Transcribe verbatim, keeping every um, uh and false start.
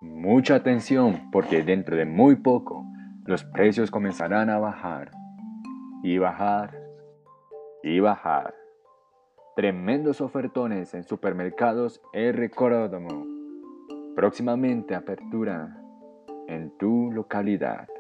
Mucha atención porque dentro de muy poco los precios comenzarán a bajar y bajar y bajar. Tremendos ofertones en supermercados R. Córdamo. Próximamente apertura en tu localidad.